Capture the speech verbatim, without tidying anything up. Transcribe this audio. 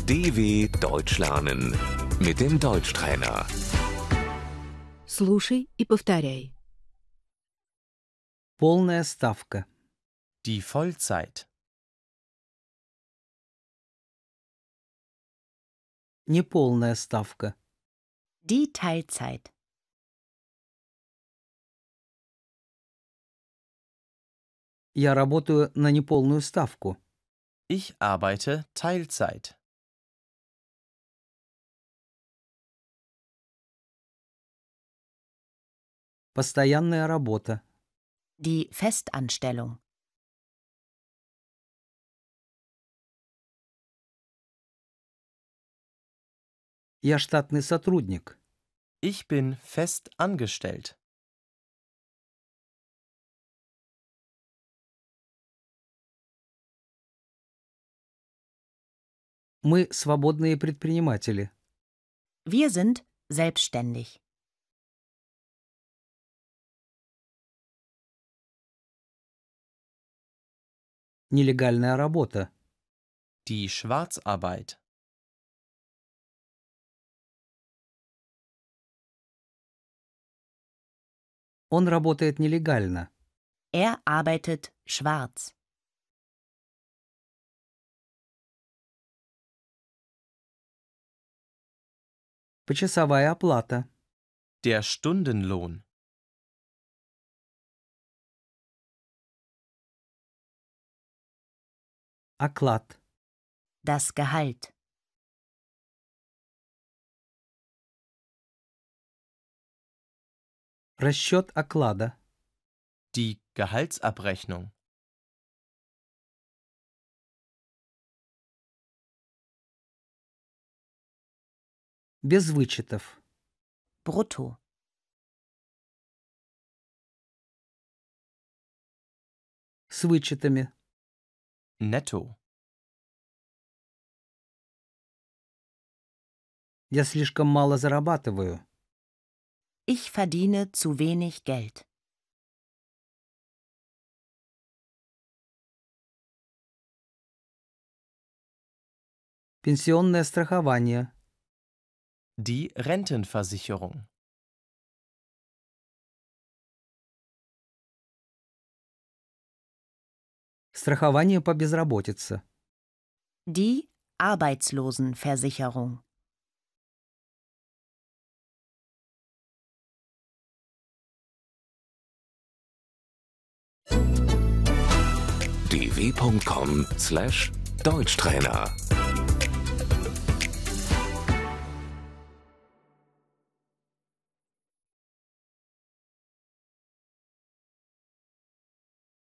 D W Deutsch lernen mit dem Deutschtrainer. Слушай и повторяй. Полная ставка. Die Vollzeit. Неполная ставка. Die Teilzeit. Я работаю на неполную ставку. Ich arbeite Teilzeit. Постоянная работа. Die Festanstellung. Я штатный сотрудник. Ich bin fest angestellt. Мы свободные предприниматели. Wir sind selbstständig. Нелегальная работа. Die Schwarzarbeit. Он работает нелегально. Er arbeitet schwarz. Почасовая оплата. Der Stundenlohn. Оклад. Das Gehalt. Расчет оклада. Die Gehaltsabrechnung. Без вычетов. Brutto. С вычетами. Netto. Я слишком мало зарабатываю. Ich verdiene zu wenig Geld. Пенсионное страхование. Die Rentenversicherung. Страхование по безработице. Die Arbeitslosenversicherung. d w punkt com slash Deutschtrainer